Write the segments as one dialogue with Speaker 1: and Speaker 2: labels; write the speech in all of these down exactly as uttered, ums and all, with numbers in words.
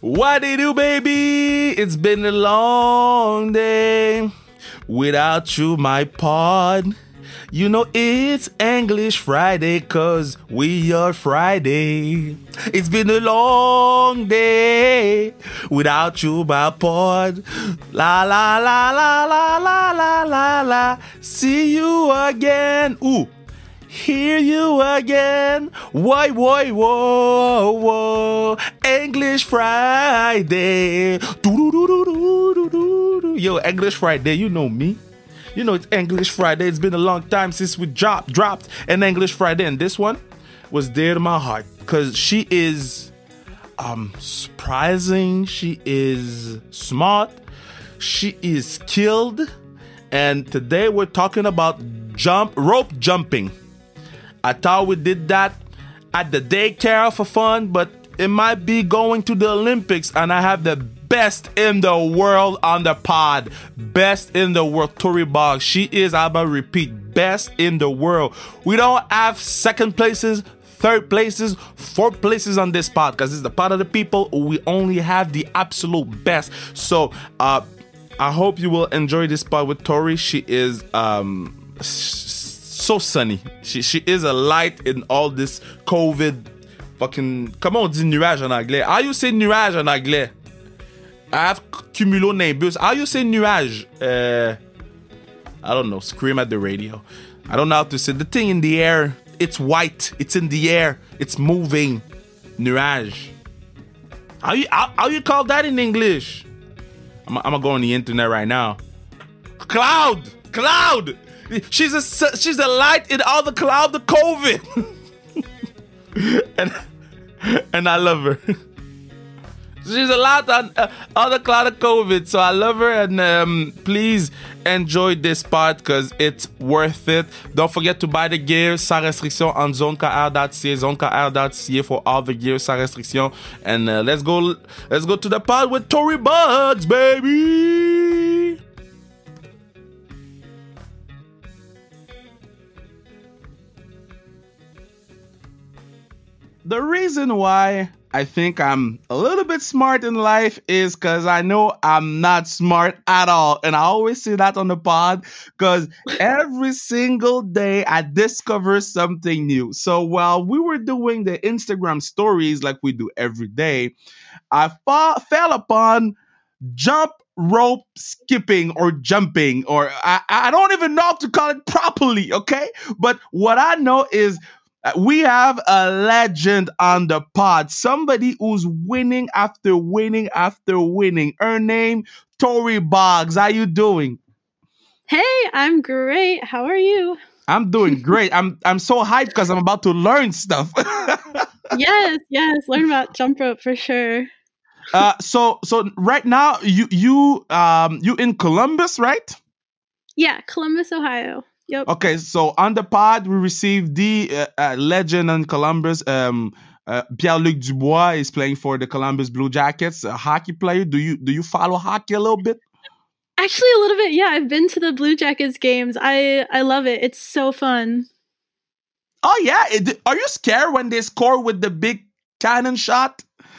Speaker 1: What do you do, baby? It's been a long day without you, my pod. You know it's English Friday, cause we are Friday. It's been a long day without you, my pod. La la la la la la la la la. See you again. Ooh. Hear you again. Why, why, whoa, whoa. English Friday. Do-do-do-do-do-do-do. Yo, English Friday, you know me. You know it's English Friday. It's been a long time since we dropped dropped an English Friday, and this one was dear to my heart because she is um surprising. She is smart. She is skilled, and today we're talking about jump rope jumping. I thought we did that at the daycare for fun, but it might be going to the Olympics, and I have the best in the world on the pod. Best in the world, Tori Boggs. She is, I'm gonna repeat, best in the world. We don't have second places, third places, fourth places on this pod because it's the pod of the people. We only have the absolute best. So, uh, I hope you will enjoy this pod with Tori. She is, um... so sunny. She, she is a light in all this COVID fucking... Comment on dit nuage en anglais? How you say nuage en anglais? I have cumulonimbus. How you say nuage? Uh, I don't know. Scream at the radio. I don't know how to say. The thing in the air. It's white. It's in the air. It's moving. Nuage. How you, how, how you call that in English? I'm, I'm gonna go on the internet right now. Cloud! Cloud! She's a she's a light in all the cloud of COVID, and and I love her. She's a light on uh, all the cloud of COVID, so I love her. And um, please enjoy this part because it's worth it. Don't forget to buy the gear sans restriction on zone k r dot c a, zone k r dot c a for all the gear sans restriction. And uh, let's go let's go to the part with Tori Boggs, baby. The reason why I think I'm a little bit smart in life is because I know I'm not smart at all. And I always say that on the pod because every single day I discover something new. So while we were doing the Instagram stories like we do every day, I fa- fell upon jump rope skipping or jumping, or I, I don't even know how to call it properly, okay? But what I know is we have a legend on the pod, somebody who's winning after winning after winning. Her name, Tori Boggs. How you doing?
Speaker 2: Hey, I'm great. How are you?
Speaker 1: I'm doing great. I'm I'm so hyped because I'm about to learn stuff.
Speaker 2: yes, yes, learn about jump rope for sure.
Speaker 1: uh, so so right now you you um you in Columbus, right?
Speaker 2: Yeah, Columbus, Ohio. Yep.
Speaker 1: Okay, so on the pod, we received the uh, uh, legend in Columbus. Um, uh, Pierre-Luc Dubois is playing for the Columbus Blue Jackets, a hockey player. Do you do you follow hockey a little bit?
Speaker 2: Actually, a little bit. Yeah, I've been to the Blue Jackets games. I I love it. It's so fun.
Speaker 1: Oh yeah, it, are you scared when they score with the big cannon shot?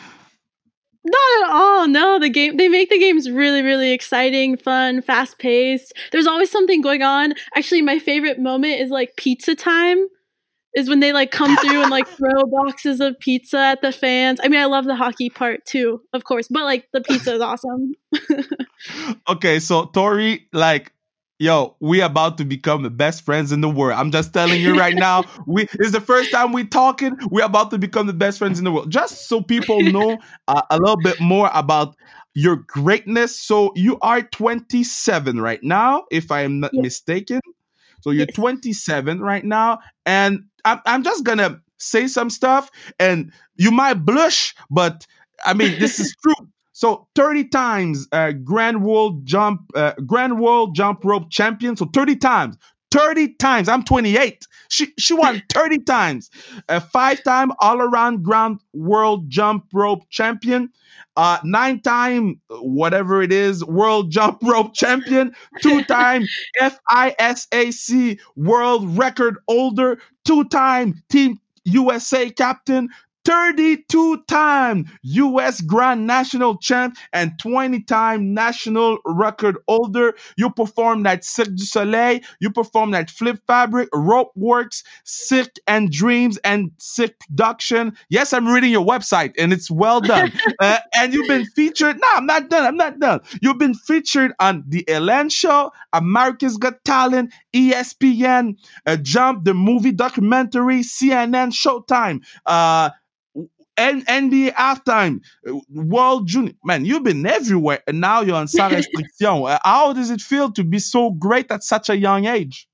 Speaker 2: Not at all. No, the game they make the games really, really exciting, fun, fast paced. There's always something going on. Actually, my favorite moment is like pizza time. Is when they like come through and like throw boxes of pizza at the fans. I mean, I love the hockey part too, of course, but like the pizza is awesome.
Speaker 1: Okay, so Tori, like, yo, we about to become the best friends in the world. I'm just telling you right now. We it's the first time we talking. We're about to become the best friends in the world. Just so people know uh, a little bit more about your greatness. So you are twenty-seven right now, if I am not
Speaker 2: yes.
Speaker 1: mistaken. So you're
Speaker 2: yes.
Speaker 1: twenty-seven right now, and I'm I'm just gonna say some stuff, and you might blush, but I mean this is true. So thirty times uh, Grand World Jump uh, Grand World Jump Rope Champion. So thirty times, thirty times. I'm twenty-eight. She she won thirty times. A five-time all-around Grand World Jump Rope Champion. Uh, nine-time whatever it is World Jump Rope Champion. Two-time F I S A C World Record Holder. Two-time Team U S A Captain. thirty-two-time U S Grand National Champ and twenty-time national record holder. You performed at Cirque du Soleil. You performed at Flip Fabric, Rope Works, Cirque and Dreams, and Cirque Production. Yes, I'm reading your website, and it's well done. uh, and you've been featured. No, I'm not done. I'm not done. You've been featured on The Ellen Show, America's Got Talent, E S P N, uh, Jump, the movie documentary, C N N, Showtime, uh, N B A Halftime, uh, World Junior. Man, you've been everywhere, and now you're on Sans Restriction. Uh, how does it feel to be so great at such a young age?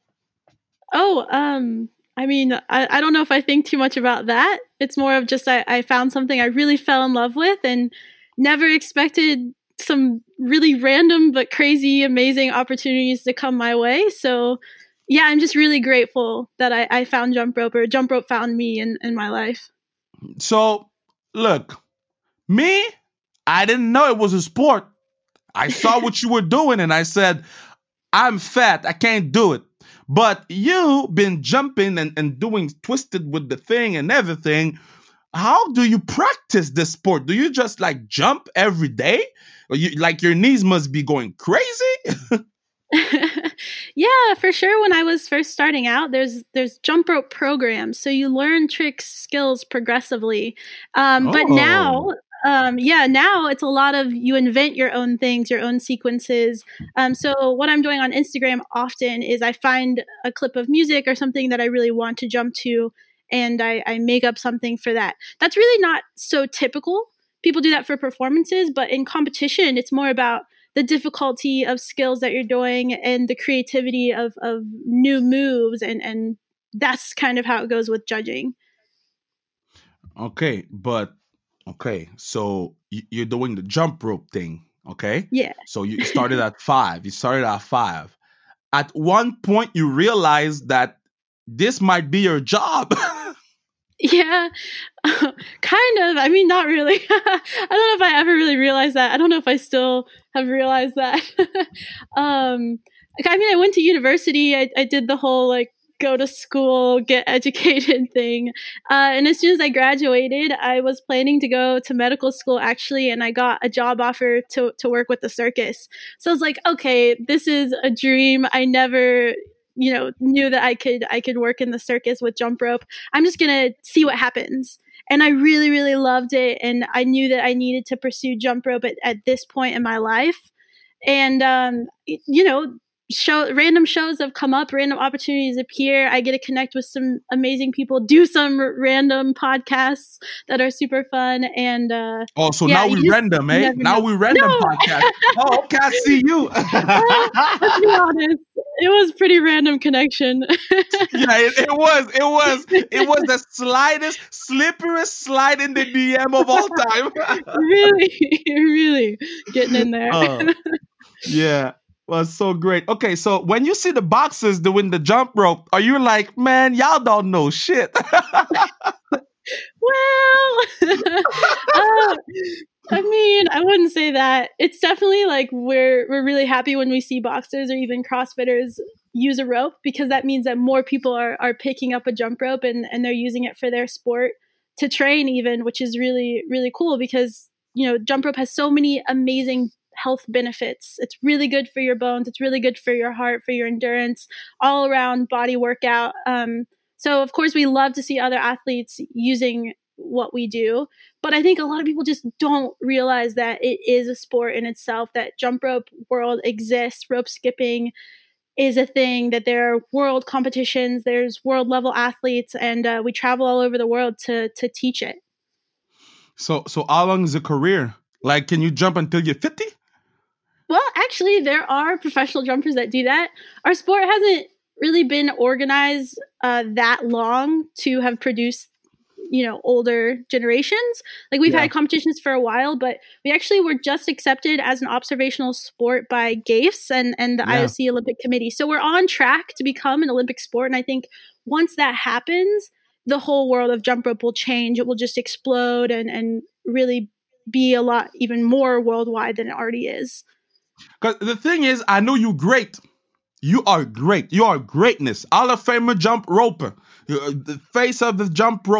Speaker 2: Oh, um, I mean, I, I don't know if I think too much about that. It's more of just I, I found something I really fell in love with and never expected some really random but crazy, amazing opportunities to come my way. So yeah, I'm just really grateful that I, I found jump rope, or jump rope found me in, in my life.
Speaker 1: So look, me, I didn't know it was a sport. I saw what you were doing and I said, I'm fat, I can't do it. But you been jumping and, and doing twisted with the thing and everything. How do you practice this sport? Do you just like jump every day? Or you, like your knees must be going crazy?
Speaker 2: Yeah, for sure. When I was first starting out, there's there's jump rope programs, so you learn tricks, skills progressively. Um,
Speaker 1: Oh.
Speaker 2: But now, um, yeah, now it's a lot of you invent your own things, your own sequences. Um, so what I'm doing on Instagram often is I find a clip of music or something that I really want to jump to, and I, I make up something for that. That's really not so typical. People do that for performances, but in competition, it's more about the difficulty of skills that you're doing and the creativity of, of new moves. And, and that's kind of how it goes with judging.
Speaker 1: Okay, but okay, so y- you're doing the jump rope thing, okay?
Speaker 2: Yeah.
Speaker 1: So you started at five. You started at five. At one point, you realized that this might be your job.
Speaker 2: Yeah, kind of. I mean, not really. I don't know if I ever really realized that. I don't know if I still have realized that. um, like, I mean, I went to university. I, I did the whole like go to school, get educated thing. Uh, and as soon as I graduated, I was planning to go to medical school actually, and I got a job offer to to work with the circus. So I was like, okay, this is a dream. I never, you know, knew that I could I could work in the circus with jump rope. I'm just gonna see what happens. And I really, really loved it. And I knew that I needed to pursue jump rope at, at this point in my life. And um, you know, show random shows have come up, random opportunities appear. I get to connect with some amazing people, do some r- random podcasts that are super fun. And uh,
Speaker 1: Oh, so
Speaker 2: yeah,
Speaker 1: now
Speaker 2: you
Speaker 1: we
Speaker 2: just
Speaker 1: random, eh?
Speaker 2: never
Speaker 1: Now
Speaker 2: know.
Speaker 1: we random
Speaker 2: No.
Speaker 1: podcast. Oh, okay, I see you.
Speaker 2: Let's be honest, it was pretty random connection.
Speaker 1: Yeah, it, it was. It was. It was the slightest, slipperiest slide in the D M of all time.
Speaker 2: really, really getting in there.
Speaker 1: Oh, yeah. Well, so great. Okay, so when you see the boxers doing the jump rope, are you like, man, y'all don't know shit?
Speaker 2: Well, uh, I mean, I wouldn't say that. It's definitely like we're we're really happy when we see boxers or even CrossFitters use a rope, because that means that more people are are picking up a jump rope and, and they're using it for their sport to train even, which is really, really cool because, you know, jump rope has so many amazing health benefits. It's really good for your bones. It's really good for your heart, for your endurance, all around body workout. Um, so of course we love to see other athletes using what we do, but I think a lot of people just don't realize that it is a sport in itself, that jump rope world exists, rope skipping is a thing, that there are world competitions, there's world level athletes, and uh, we travel all over the world to to teach it.
Speaker 1: So, so how long is a career? Like, can you jump until you're fifty?
Speaker 2: Well, actually, there are professional jumpers that do that. Our sport hasn't really been organized uh, that long to have produced, you know, older generations. Like we've
Speaker 1: Yeah.
Speaker 2: had competitions for a while, but we actually were just accepted as an observational sport by GAIFS and, and the
Speaker 1: Yeah.
Speaker 2: I O C Olympic Committee. So we're on track to become an Olympic sport. And I think once that happens, the whole world of jump rope will change. It will just explode and, and really be a lot even more worldwide than it already is.
Speaker 1: Because the thing is, I know you great. You are great. You are greatness. Hall of Famer jump roper. You're the face of the jump rope.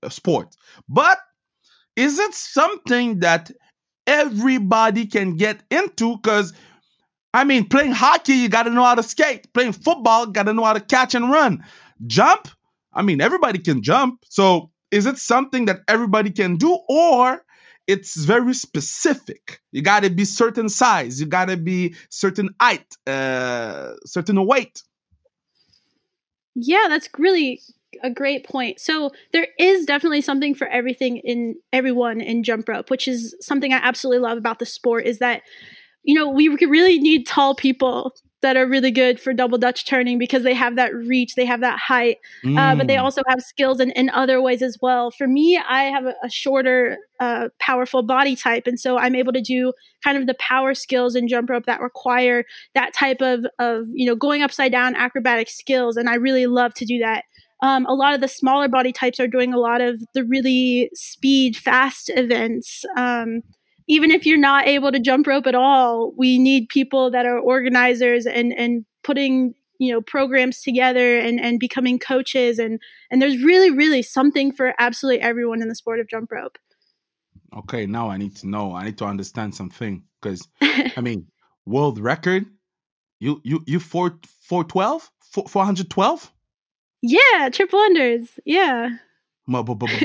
Speaker 1: sport. But is it something that everybody can get into? Because, I mean, playing hockey, you got to know how to skate. Playing football, got to know how to catch and run. Jump, I mean, everybody can jump. So is it something that everybody can do, or it's very specific? You got to be certain size. You got to be certain height, uh, certain weight.
Speaker 2: Yeah, that's really a great point. So there is definitely something for everything in everyone in jump rope, which is something I absolutely love about the sport, is that, you know, we really need tall people that are really good for double Dutch turning because they have that reach, they have that height, mm. uh, but they also have skills in, in other ways as well. For me, I have a, a shorter, uh, powerful body type. And so I'm able to do kind of the power skills in jump rope that require that type of, of, you know, going upside down acrobatic skills. And I really love to do that. Um, a lot of the smaller body types are doing a lot of the really speed, fast events. Um, Even if you're not able to jump rope at all, we need people that are organizers and, and putting, you know, programs together and, and becoming coaches. And, and there's really, really something for absolutely everyone in the sport of jump rope.
Speaker 1: Okay, now I need to know. I need to understand something because, I mean, world record, you you you four four twelve, four hundred twelve.
Speaker 2: Yeah, triple unders. Yeah.
Speaker 1: At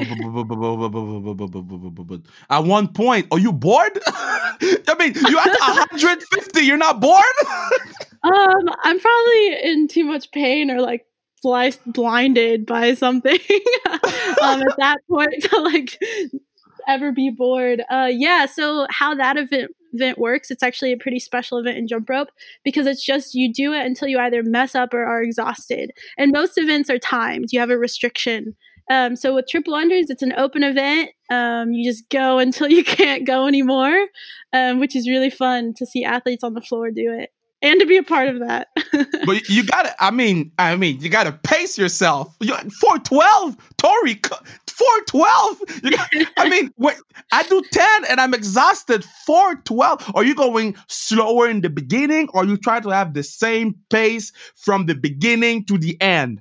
Speaker 1: one point, are you bored? I mean, you're at one hundred fifty. You're not bored?
Speaker 2: um, I'm probably in too much pain or like sliced, blinded by something um, at that point to like ever be bored. Uh, yeah. So how that event event works, it's actually a pretty special event in jump rope because it's just you do it until you either mess up or are exhausted. And most events are timed. You have a restriction. Um, so with triple unders, it's an open event. Um, you just go until you can't go anymore, um, which is really fun to see athletes on the floor do it and to be a part of that.
Speaker 1: But you gotta, I mean, I mean, you gotta pace yourself. four twelve, Tori, four twelve. I mean, wait, I do ten and I'm exhausted. four twelve. Are you going slower in the beginning, or you try to have the same pace from the beginning to the end?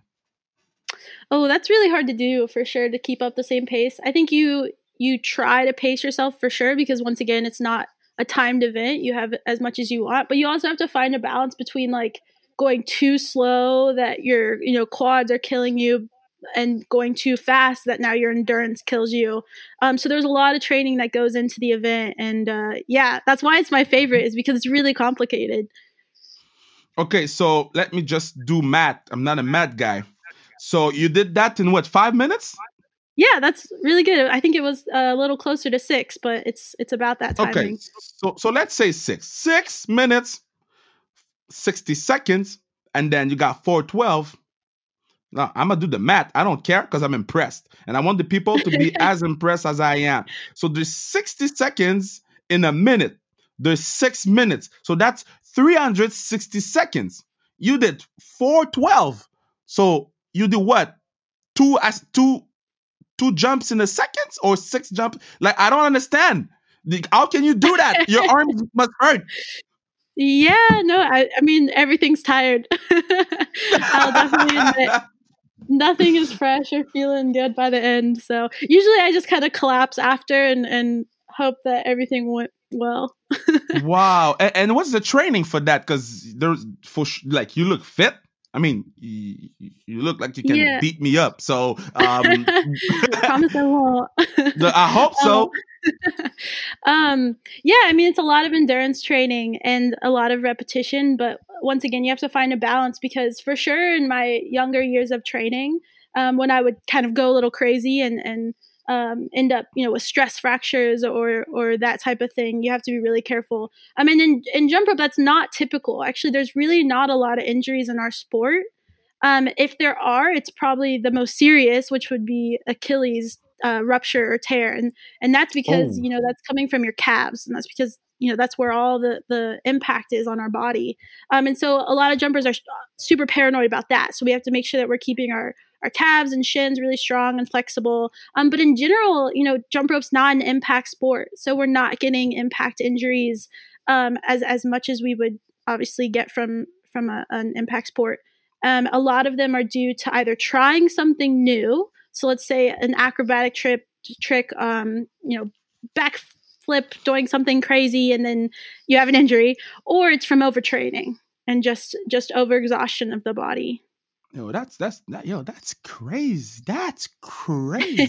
Speaker 2: Oh, that's really hard to do for sure, to keep up the same pace. I think you you try to pace yourself for sure because once again, it's not a timed event. You have as much as you want, but you also have to find a balance between like going too slow that your, you know, quads are killing you and going too fast that now your endurance kills you. Um, so there's a lot of training that goes into the event. And uh, yeah, that's why it's my favorite, is because it's really complicated.
Speaker 1: Okay, so let me just do math. I'm not a math guy. So you did that in what, five minutes?
Speaker 2: Yeah, that's really good. I think it was a little closer to six, but it's it's about that timing.
Speaker 1: Okay, so so let's say six. Six minutes, sixty seconds, and then you got four twelve. Now, I'm going to do the math. I don't care because I'm impressed. And I want the people to be as impressed as I am. So there's sixty seconds in a minute. There's six minutes. So that's three hundred sixty seconds. You did four twelve. So you do what? Two as two two jumps in a second or six jumps? Like, I don't understand. How can you do that? Your arms must hurt.
Speaker 2: Yeah, no, I, I mean, everything's tired. I'll definitely admit. Nothing is fresh or feeling good by the end. So usually I just kind of collapse after and, and hope that everything went well.
Speaker 1: Wow. And, and what's the training for that? Because there's for like, you look fit. I mean, you, you look like you can yeah. beat me up. So um,
Speaker 2: promise I won't.
Speaker 1: I hope so.
Speaker 2: um, yeah, I mean, it's a lot of endurance training and a lot of repetition. But once again, you have to find a balance because for sure in my younger years of training, um, when I would kind of go a little crazy and, and um, end up, you know, with stress fractures or or that type of thing, you have to be really careful. I mean, in, in jump rope, that's not typical. Actually, there's really not a lot of injuries in our sport. Um, if there are, it's probably the most serious, which would be Achilles uh, rupture or tear. And and that's because, oh. you know, that's coming from your calves. And that's because, you know, that's where all the, the impact is on our body. Um, and so a lot of jumpers are super paranoid about that. So we have to make sure that we're keeping our, our calves and shins really strong and flexible. Um, but in general, you know, jump rope's not an impact sport. So we're not getting impact injuries um, as, as much as we would obviously get from, from a, an impact sport. Um, a lot of them are due to either trying something new. So let's say an acrobatic trip trick, um, you know, backflip, doing something crazy, and then you have an injury, or it's from overtraining and just just overexhaustion of the body.
Speaker 1: Yo, that's that's that, yo, that's crazy. That's crazy.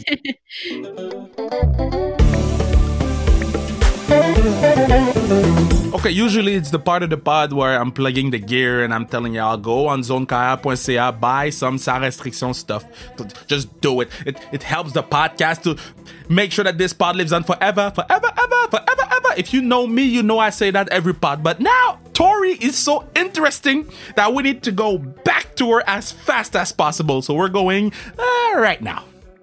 Speaker 1: Okay, usually it's the part of the pod where I'm plugging the gear and I'm telling y'all, go on zone carrière dot c a, buy some sans restriction stuff. Just do it. It it helps the podcast to make sure that this pod lives on forever, forever, ever, forever, ever. If you know me, you know I say that every pod. But now, Tori is so interesting that we need to go back to her as fast as possible. So we're going uh, right now.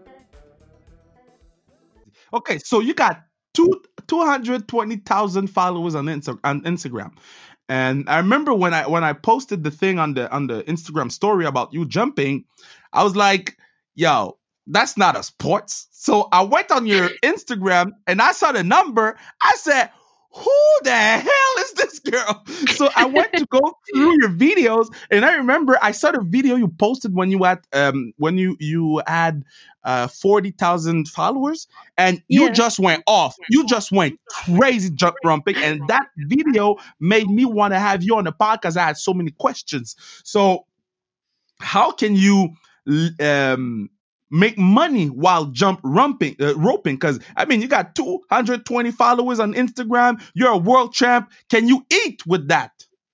Speaker 1: Okay, so you got two two hundred twenty thousand followers on, Insta- on Instagram, and I remember when I when I posted the thing on the on the Instagram story about you jumping, I was like, "Yo, that's not a sports." So I went on your Instagram and I saw the number. I said, "Who the hell is this girl?" So I went to go through your videos, and I remember I saw the video you posted when you had um when you you had uh forty thousand followers, and you
Speaker 2: Yeah.
Speaker 1: just went off. You just went crazy jump rumping, and that video made me want to have you on the podcast. I had so many questions. So how can you um make money while jump rumping, uh, roping? Because, I mean, you got two hundred twenty followers on Instagram. You're a world champ. Can you eat with that?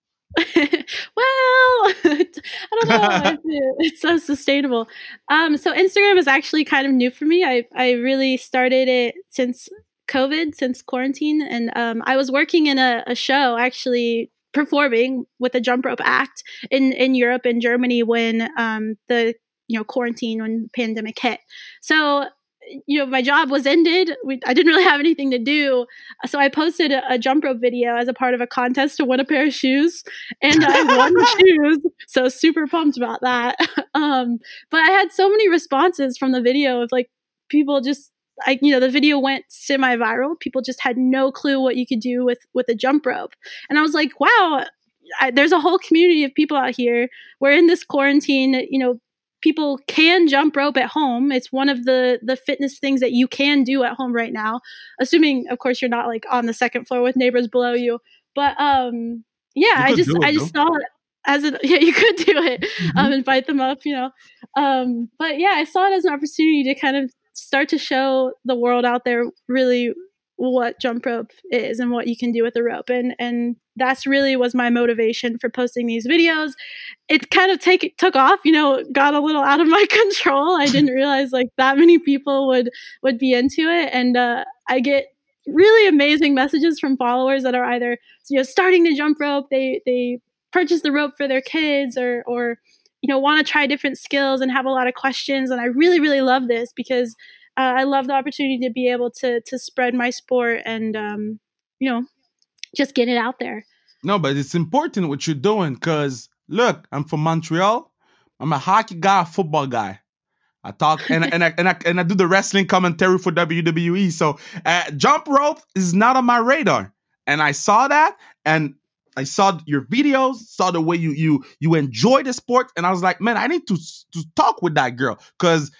Speaker 2: Well, I don't know if it- it's so sustainable. Um, so Instagram is actually kind of new for me. I I really started it since COVID, since quarantine, and um, I was working in a, a show, actually performing with a jump rope act in in Europe and Germany when um, the you know quarantine, when the pandemic hit. So you know, my job was ended. We, I didn't really have anything to do. So I posted a, a jump rope video as a part of a contest to win a pair of shoes. And I won the shoes. So super pumped about that. Um, but I had so many responses from the video of like people just, I, you know, the video went semi-viral. People just had no clue what you could do with, with a jump rope. And I was like, wow, I, there's a whole community of people out here. We're in this quarantine, you know, people can jump rope at home. It's one of the the fitness things that you can do at home right now, assuming, of course, you're not like on the second floor with neighbors below you. But um, yeah, I just
Speaker 1: it,
Speaker 2: I just saw it as a yeah, you could do it, mm-hmm. um, invite them up, you know. Um, but yeah, I saw it as an opportunity to kind of start to show the world out there really what jump rope is and what you can do with a rope, and and that's really was my motivation for posting these videos. It kind of take took off, you know, got a little out of my control. I didn't realize like that many people would would be into it, and uh, I get really amazing messages from followers that are either you know starting to jump rope, they they purchase the rope for their kids, or or you know want to try different skills and have a lot of questions. And I really really love this because uh, I love the opportunity to be able to to spread my sport and um, you know just get it out there.
Speaker 1: No, but it's important what you're doing because, look, I'm from Montreal. I'm a hockey guy, a football guy. I talk and, and, I, and, I, and I do the wrestling commentary for W W E. So uh, jump rope is not on my radar. And I saw that, and I saw your videos, saw the way you you you enjoy the sport. And I was like, man, I need to, to talk with that girl because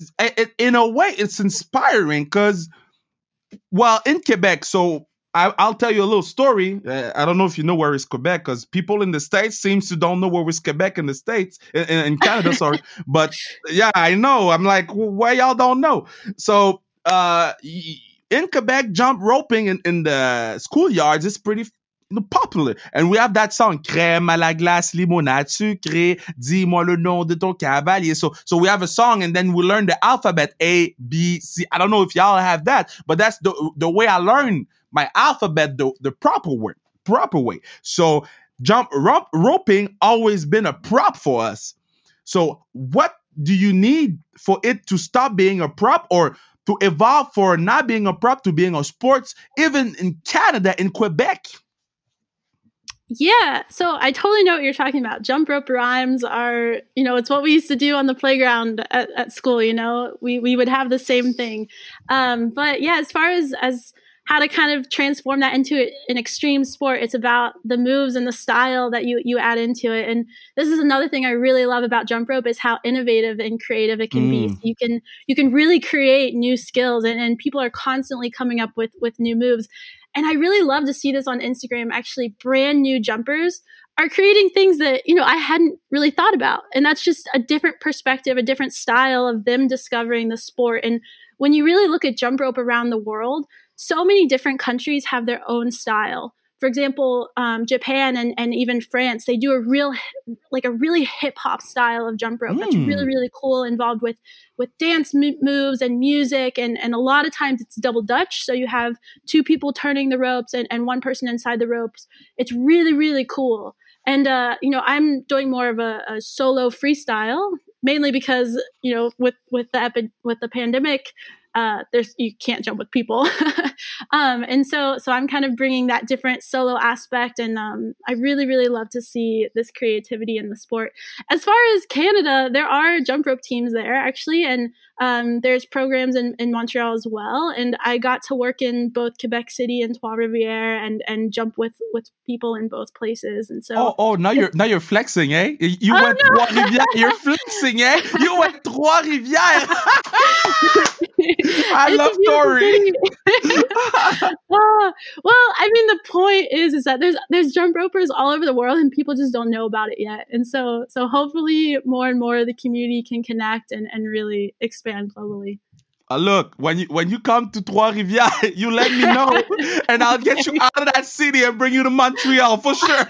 Speaker 1: in a way it's inspiring because, well, in Quebec, so I, I'll tell you a little story. Uh, I don't know if you know where is Quebec because people in the States seems to don't know where is Quebec in the States, in, in Canada, sorry. But yeah, I know. I'm like, well, why y'all don't know? So uh, in Quebec, jump roping in, in the schoolyards is pretty popular. And we have that song, Crème à la glace, limonade sucrée, dis-moi le nom de ton cavalier. So, so we have a song, and then we learn the alphabet, A, B, C. I don't know if y'all have that, but that's the the way I learned my alphabet the, the proper way, proper way. So jump rope, roping always been a prop for us. So what do you need for it to stop being a prop or to evolve for not being a prop to being a sports, even in Canada, in Quebec?
Speaker 2: Yeah, so I totally know what you're talking about. Jump rope rhymes are, you know, it's what we used to do on the playground at, at school, you know. We we would have the same thing. Um, but yeah, as far as as how to kind of transform that into an extreme sport. It's about the moves and the style that you you add into it. And this is another thing I really love about jump rope is how innovative and creative it can mm. be. So you can you can really create new skills, and, and people are constantly coming up with with new moves. And I really love to see this on Instagram. Actually, brand new jumpers are creating things that, you know, I hadn't really thought about. And that's just a different perspective, a different style of them discovering the sport. And when you really look at jump rope around the world, so many different countries have their own style. For example, um, Japan and, and even France, they do a real, like a really hip hop style of jump rope. Mm. That's really, really cool, involved with, with dance m- moves and music. And, and a lot of times it's double Dutch. So you have two people turning the ropes and, and one person inside the ropes. It's really, really cool. And, uh, you know, I'm doing more of a, a solo freestyle, mainly because, you know, with, with the epi- with the pandemic, uh, there's, you can't jump with people. um, and so, so I'm kind of bringing that different solo aspect. And, um, I really, really love to see this creativity in the sport. As far as Canada, there are jump rope teams there actually. And, um, there's programs in, in Montreal as well. And I got to work in both Quebec City and Trois-Rivières and, and jump with, with people in both places. And so,
Speaker 1: oh, oh, now you're, now you're flexing, eh? You
Speaker 2: oh,
Speaker 1: went
Speaker 2: no.
Speaker 1: Trois-Rivières, you're flexing, eh? You went Trois-Rivières. I
Speaker 2: it's
Speaker 1: love Tori.
Speaker 2: oh, well, I mean, the point is, is that there's there's jump ropers all over the world, and people just don't know about it yet. And so, so hopefully, more and more of the community can connect and, and really expand globally.
Speaker 1: Uh, look, when you when you come to Trois-Rivières, you let me know, and I'll get you out of that city and bring you to Montreal for sure.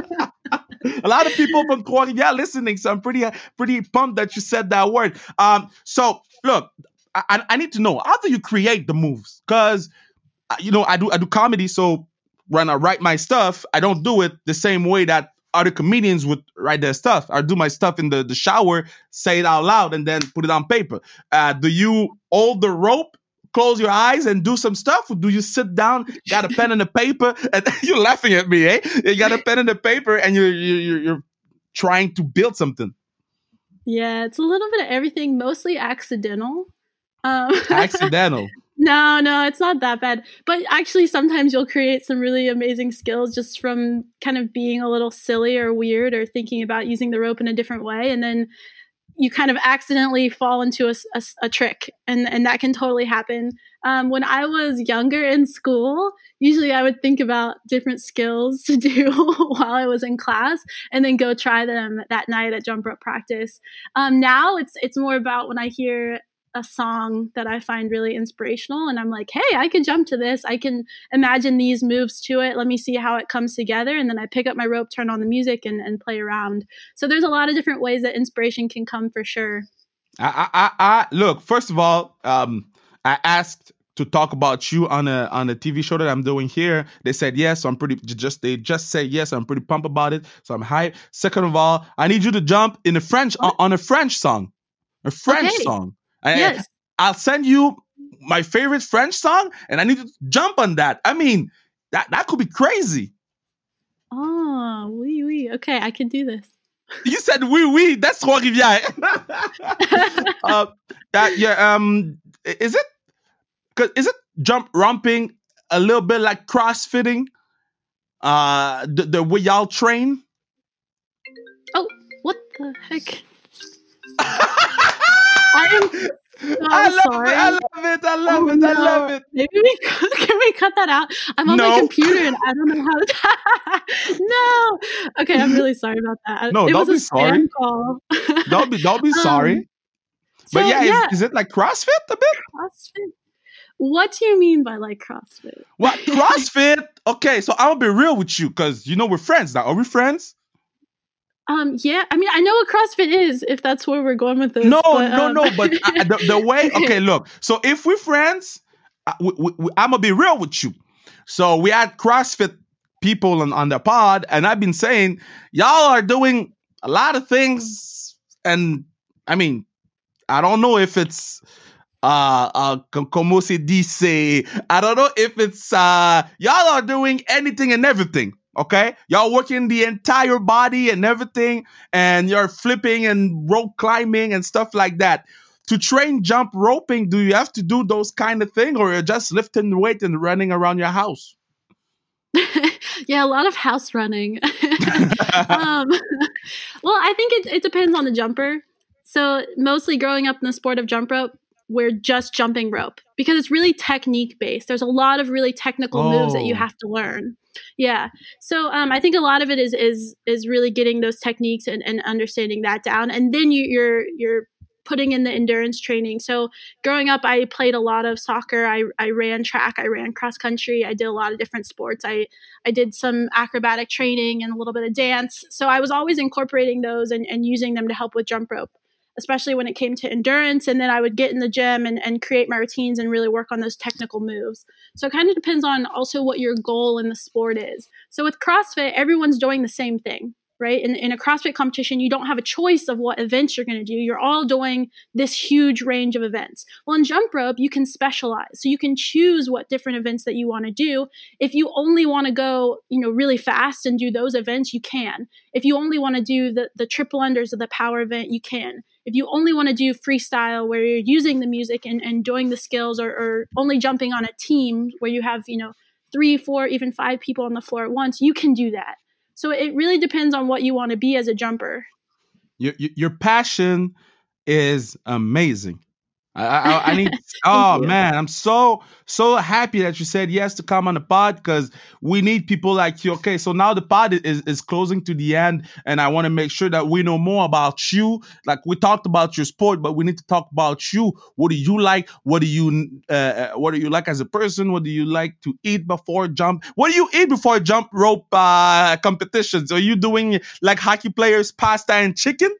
Speaker 1: A lot of people from Trois-Rivières listening, so I'm pretty pretty pumped that you said that word. Um, so look. I, I need to know, how do you create the moves? Because, you know, I do I do comedy, so when I write my stuff, I don't do it the same way that other comedians would write their stuff. I do my stuff in the, the shower, say it out loud, and then put it on paper. Uh, do you hold the rope, close your eyes, and do some stuff? Or do you sit down, got a pen and a paper, and you're laughing at me, eh? You got a pen and a paper, and you're, you're, you're trying to build something.
Speaker 2: Yeah, it's a little bit of everything, mostly accidental. Um,
Speaker 1: Accidental.
Speaker 2: No, no, it's not that bad. But actually, sometimes you'll create some really amazing skills just from kind of being a little silly or weird or thinking about using the rope in a different way. And then you kind of accidentally fall into a, a, a trick. And, and that can totally happen. Um, when I was younger in school, usually I would think about different skills to do while I was in class and then go try them that night at jump rope practice. Um, now it's it's more about when I hear a song that I find really inspirational and I'm like, hey, I can jump to this. I can imagine these moves to it. Let me see how it comes together. And then I pick up my rope, turn on the music and, and play around. So there's a lot of different ways that inspiration can come for sure.
Speaker 1: I, I, I look, first of all, um, I asked to talk about you on a on a T V show that I'm doing here. They said yes, so I'm pretty just they just said yes, I'm pretty pumped about it. So I'm hyped. Second of all, I need you to jump in a French on, on a French song. A French okay. song.
Speaker 2: Yes.
Speaker 1: I, I'll send you my favorite French song, and I need to jump on that. I mean, that, that could be crazy.
Speaker 2: Oh, oui, oui. Okay, I can do this.
Speaker 1: You said oui, oui. That's Trois-Rivières. uh, uh, yeah. Um, is it? Cause is it jump romping a little bit like CrossFitting? Uh, the the way y'all train.
Speaker 2: Oh, what the heck? I'm so
Speaker 1: I love
Speaker 2: sorry.
Speaker 1: it. I love it. I love
Speaker 2: oh,
Speaker 1: it.
Speaker 2: no.
Speaker 1: I love it.
Speaker 2: Maybe we can we cut that out? I'm on
Speaker 1: no.
Speaker 2: my computer and I don't know how to. No. Okay, I'm really sorry about that.
Speaker 1: No,
Speaker 2: it
Speaker 1: don't
Speaker 2: was
Speaker 1: be
Speaker 2: a
Speaker 1: sorry.
Speaker 2: Call.
Speaker 1: don't be don't be sorry.
Speaker 2: Um, so,
Speaker 1: but yeah,
Speaker 2: yeah.
Speaker 1: Is, is it like CrossFit a bit?
Speaker 2: CrossFit. What do you mean by like CrossFit?
Speaker 1: What CrossFit? Okay, so I'm gonna be real with you because you know we're friends now. Are we friends?
Speaker 2: Um, yeah, I mean, I know what CrossFit is, if that's where we're going with this.
Speaker 1: No,
Speaker 2: but,
Speaker 1: no,
Speaker 2: um...
Speaker 1: no, but uh, the, the way, okay, look. So if we're friends, uh, we, we, we, I'm going to be real with you. So we had CrossFit people on, on the pod, and I've been saying, y'all are doing a lot of things, and I mean, I don't know if it's, uh, uh, como se dice, I don't know if it's, uh, y'all are doing anything and everything. Okay, y'all working the entire body and everything, and you're flipping and rope climbing and stuff like that. to train jump roping, do you have to do those kind of thing, or you're just lifting the weight and running around your house?
Speaker 2: Yeah, a lot of house running. um, well, I think it, it depends on the jumper. So mostly growing up in the sport of jump rope, we're just jumping rope because it's really technique based. There's a lot of really technical oh. moves that you have to learn. Yeah. So um, I think a lot of it is is is really getting those techniques and, and understanding that down. And then you, you're you're putting in the endurance training. So growing up, I played a lot of soccer. I, I ran track. I ran cross country. I did a lot of different sports. I, I did some acrobatic training and a little bit of dance. So I was always incorporating those and, and using them to help with jump rope, especially when it came to endurance. And then I would get in the gym and, and create my routines and really work on those technical moves. So it kind of depends on also what your goal in the sport is. So with CrossFit, everyone's doing the same thing. Right? In, in a CrossFit competition, you don't have a choice of what events you're going to do. You're all doing this huge range of events. Well, in jump rope, you can specialize. So you can choose what different events that you want to do. If you only want to go, you know, really fast and do those events, you can. If you only want to do the, the triple unders of the power event, you can. If you only want to do freestyle where you're using the music and, and doing the skills, or, or only jumping on a team where you have, you know, three, four, even five people on the floor at once, you can do that. So it really depends on what you want to be as a jumper.
Speaker 1: Your your passion is amazing. I, I, I need. oh man, I'm so so happy that you said yes to come on the pod, because we need people like you. Okay, so now the pod is is closing to the end, and I want to make sure that we know more about you. Like, we talked about your sport, but we need to talk about you. What do you like? What do you uh, what do you like as a person? What do you like to eat before jump? What do you eat before jump rope uh, competitions? Are you doing like hockey players, pasta and chicken?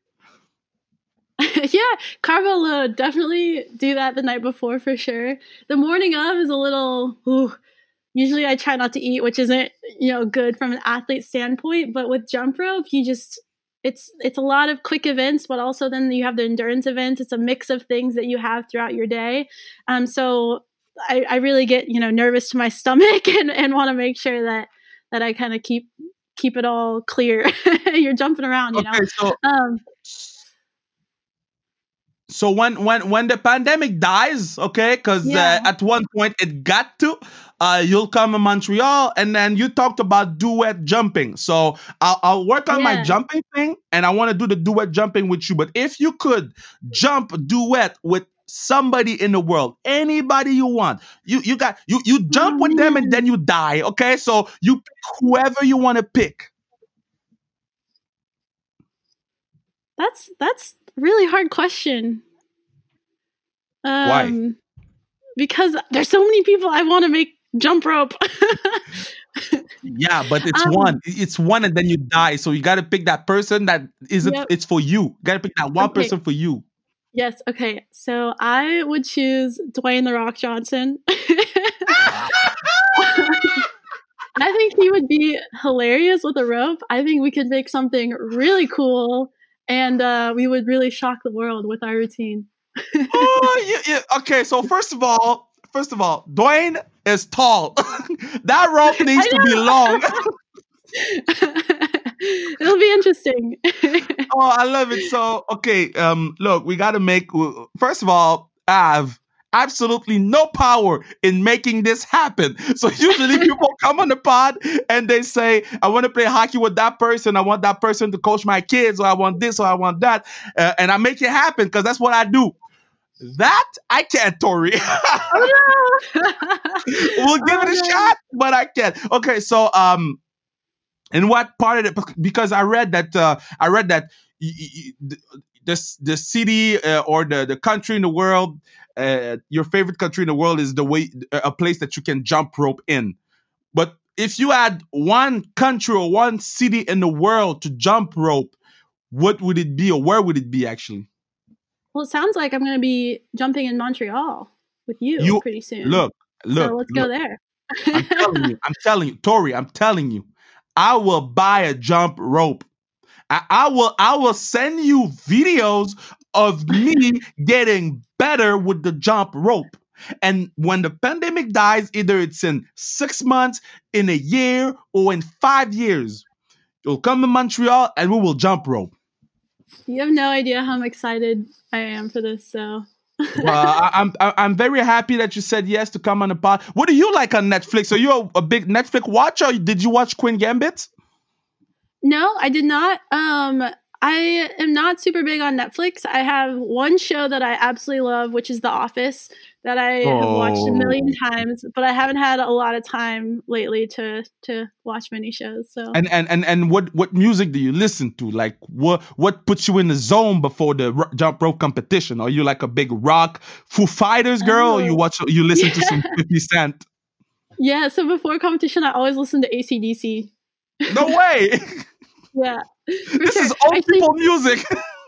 Speaker 2: Yeah, carbo load. Definitely do that the night before for sure. The morning of is a little, ooh, usually I try not to eat, which isn't, you know, good from an athlete standpoint. But with jump rope, you just, it's it's a lot of quick events, but also then you have the endurance events. It's a mix of things that you have throughout your day. Um, so I, I really get, you know, nervous to my stomach and, and want to make sure that that I kind of keep keep it all clear. You're jumping around, you
Speaker 1: okay,
Speaker 2: know.
Speaker 1: So-
Speaker 2: um,
Speaker 1: So when when when the pandemic dies, okay, because
Speaker 2: Yeah.
Speaker 1: uh, at one point it got to, uh, you'll come in Montreal, and then you talked about duet jumping. So I'll, I'll work on my
Speaker 2: Yeah.
Speaker 1: jumping thing, and I want to do the duet jumping with you. But if you could jump duet with somebody in the world, anybody you want, you you got you you jump
Speaker 2: Oh,
Speaker 1: with them,
Speaker 2: man.
Speaker 1: and then you die. Okay, so you pick whoever you want to pick.
Speaker 2: That's that's a really hard question. Um,
Speaker 1: Why?
Speaker 2: Because there's so many people I want to make jump rope.
Speaker 1: Yeah, but it's
Speaker 2: Um,
Speaker 1: one. It's one, and then you die. So you got to pick that person that isn't.
Speaker 2: Yep.
Speaker 1: It's for you. You got to pick that one
Speaker 2: Okay.
Speaker 1: person for you.
Speaker 2: Yes. Okay. So I would choose Dwayne the Rock Johnson. I think he would be hilarious with a rope. I think we could make something really cool, and uh, we would really shock the world with our routine.
Speaker 1: Oh, yeah, yeah. Okay, so first of all, first of all, Dwayne is tall. That rope needs to be long.
Speaker 2: It'll be interesting.
Speaker 1: Oh, I love it. So, okay, um, look, we got to make. First of all, I have absolutely no power in making this happen. So usually people come on the pod and they say, I want to play hockey with that person. I want that person to coach my kids, or I want this, or I want that. Uh, and I make it happen because that's what I do. That I can't, Tori.
Speaker 2: Oh, no.
Speaker 1: We'll give
Speaker 2: Oh,
Speaker 1: it a
Speaker 2: no.
Speaker 1: shot, but I can't. Okay, so um, in what part of it? Because I read that uh, I read that y- y- y- the the city uh, or the the country in the world, uh, your favorite country in the world is the way a place that you can jump rope in. But if you had one country or one city in the world to jump rope, what would it be, or where would it be actually?
Speaker 2: Well, it sounds like I'm going to be jumping in Montreal with you,
Speaker 1: You
Speaker 2: pretty soon.
Speaker 1: look, look,
Speaker 2: so let's
Speaker 1: look.
Speaker 2: go there.
Speaker 1: I'm telling you, I'm telling you, Tori, I'm telling you, I will buy a jump rope. I, I will, I will send you videos of me getting better with the jump rope. And when the pandemic dies, either it's in six months, in a year, or in five years, you'll come to Montreal and we will jump rope.
Speaker 2: You have no idea how excited I am for this. So
Speaker 1: uh, I, I'm I- I'm very happy that you said yes to come on the pod. What do you like on Netflix? Are you a, a big Netflix watcher? Or did you watch Queen Gambit?
Speaker 2: No, I did not. Um, I am not super big on Netflix. I have one show that I absolutely love, which is The Office, that I
Speaker 1: Oh.
Speaker 2: have watched a million times, but I haven't had a lot of time lately to to watch many shows. So
Speaker 1: And and and and what what music do you listen to? Like what what puts you in the zone before the ro- jump rope competition? Are you like a big rock Foo Fighters girl? Or you watch you listen
Speaker 2: Yeah.
Speaker 1: to some fifty Cent?
Speaker 2: yeah, so before competition, I always listen to A C D C.
Speaker 1: No way.
Speaker 2: Yeah, for
Speaker 1: This
Speaker 2: sure.
Speaker 1: is old
Speaker 2: Actually-
Speaker 1: people music.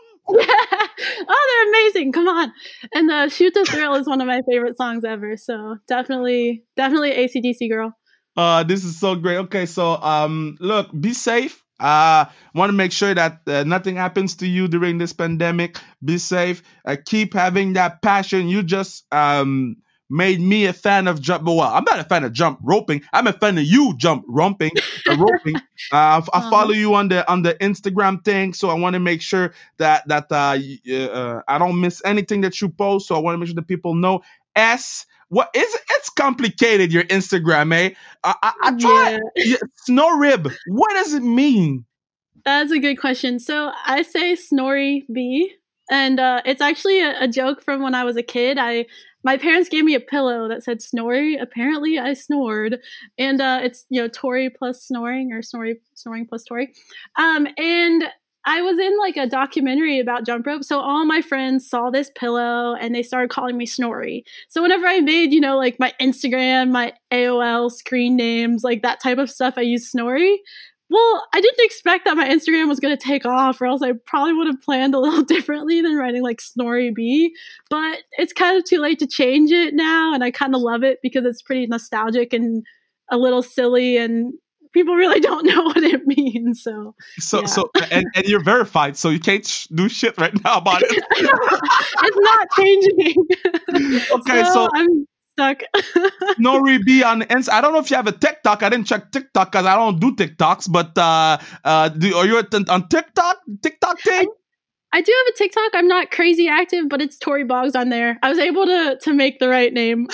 Speaker 2: oh, they're amazing! Come on, and the "Shoot to Thrill" is one of my favorite songs ever. So definitely, definitely A C D C girl.
Speaker 1: Uh, this is so great. Okay, so um, look, be safe. Uh, want to make sure that uh, nothing happens to you during this pandemic. Be safe. Uh, keep having that passion. You just um made me a fan of jump. Well, I'm not a fan of jump roping. I'm a fan of you jump romping, uh, roping. Uh, I, I follow you on the on the Instagram thing, so I want to make sure that that uh, y- uh I don't miss anything that you post. So I want to make sure that people know. S what is it? It's complicated. Your Instagram, eh? I I, I try. Yeah, snow rib. What does it mean?
Speaker 2: That's a good question. So I say Snorri B, and uh, it's actually a, a joke from when I was a kid. I my parents gave me a pillow that said Snorri. Apparently, I snored, and uh, it's you know Tori plus snoring or Snorri snoring plus Tori. Um, and I was in like a documentary about jump rope, so all my friends saw this pillow and they started calling me Snorri. So whenever I made, you know, like my Instagram, my A O L screen names, like that type of stuff, I used Snorri. Well, I didn't expect that my Instagram was going to take off, or else I probably would have planned a little differently than writing like Snorri B. But it's kind of too late to change it now, and I kind of love it because it's pretty nostalgic and a little silly, and people really don't know what it means. So,
Speaker 1: So
Speaker 2: yeah.
Speaker 1: so and, and you're verified, so you can't sh- do shit right now about it.
Speaker 2: it's not changing.
Speaker 1: Okay,
Speaker 2: so,
Speaker 1: so
Speaker 2: I'm stuck.
Speaker 1: Nori B on Insta. I don't know if you have a TikTok. I didn't check TikTok because I don't do TikToks. But uh, uh, do, are you at, on TikTok? TikTok thing?
Speaker 2: I do have a TikTok. I'm not crazy active, but it's Tori Boggs on there. I was able to to make the right name.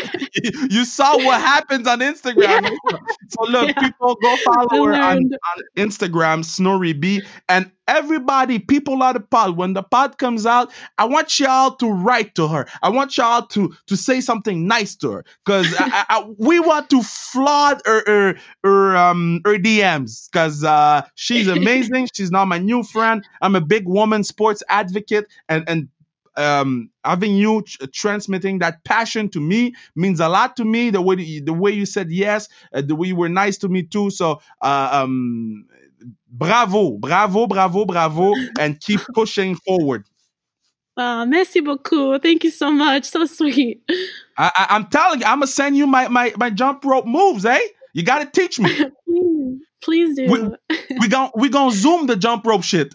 Speaker 1: You saw what happens on Instagram. Yeah. So look, yeah. people go follow her on, on Instagram, Snorri B. And everybody, people on the pod, when the pod comes out, I want y'all to write to her. I want y'all to to say something nice to her. Because I, I, we want to flood her, her, her, um, her D Ms. Because uh, she's amazing. She's now my new friend. I'm a big woman sports advocate. And, and um having you tr- transmitting that passion to me means a lot to me. The way you, the way you said yes, uh, the way you were nice to me too. So uh, um bravo, bravo, bravo, bravo, and keep pushing forward.
Speaker 2: Uh, merci beaucoup. Thank you so much. So sweet.
Speaker 1: I, I, I'm telling you, I'm gonna send you my my my jump rope moves, eh? You gotta teach me.
Speaker 2: Please, please do.
Speaker 1: We, we gon' we gonna zoom the jump rope shit.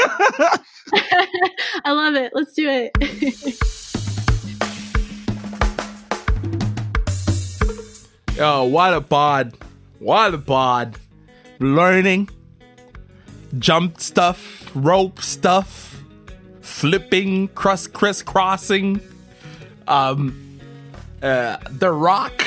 Speaker 2: I love it. Let's do it.
Speaker 1: Yo, what a pod. What a pod. Learning, jump stuff, rope stuff, flipping, cross crisscrossing, um, uh, The Rock.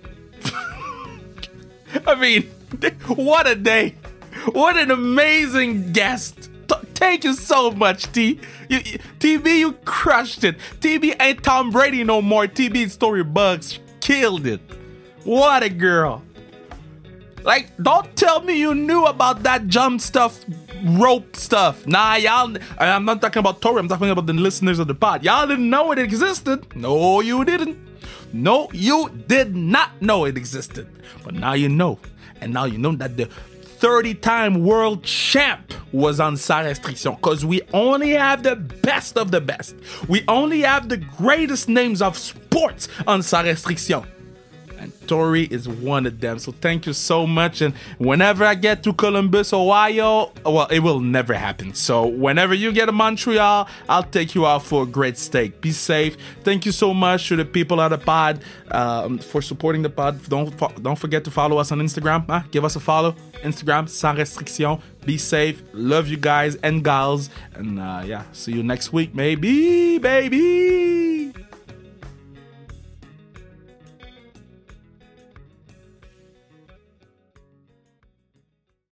Speaker 1: I mean, what a day. What an amazing guest. Thank you so much, T. You, you, T B, you crushed it. T B ain't Tom Brady no more. T B Story Bugs killed it. What a girl. Like, don't tell me you knew about that jump stuff, rope stuff. Nah, y'all, I'm not talking about Tori. I'm talking about the listeners of the pod. Y'all didn't know it existed. No, you didn't. No, you did not know it existed. But now you know. And now you know that the thirty-time world champ was on Sans Restriction, because we only have the best of the best. We only have the greatest names of sports on Sans Restriction. And Tori is one of them. So thank you so much. And whenever I get to Columbus, Ohio, well, it will never happen. So whenever you get to Montreal, I'll take you out for a great steak. Be safe. Thank you so much to the people at the pod um, for supporting the pod. Don't don't forget to follow us on Instagram. Huh? Give us a follow. Instagram, Sans Restriction. Be safe. Love you guys and gals. And uh, yeah, see you next week. Maybe, baby.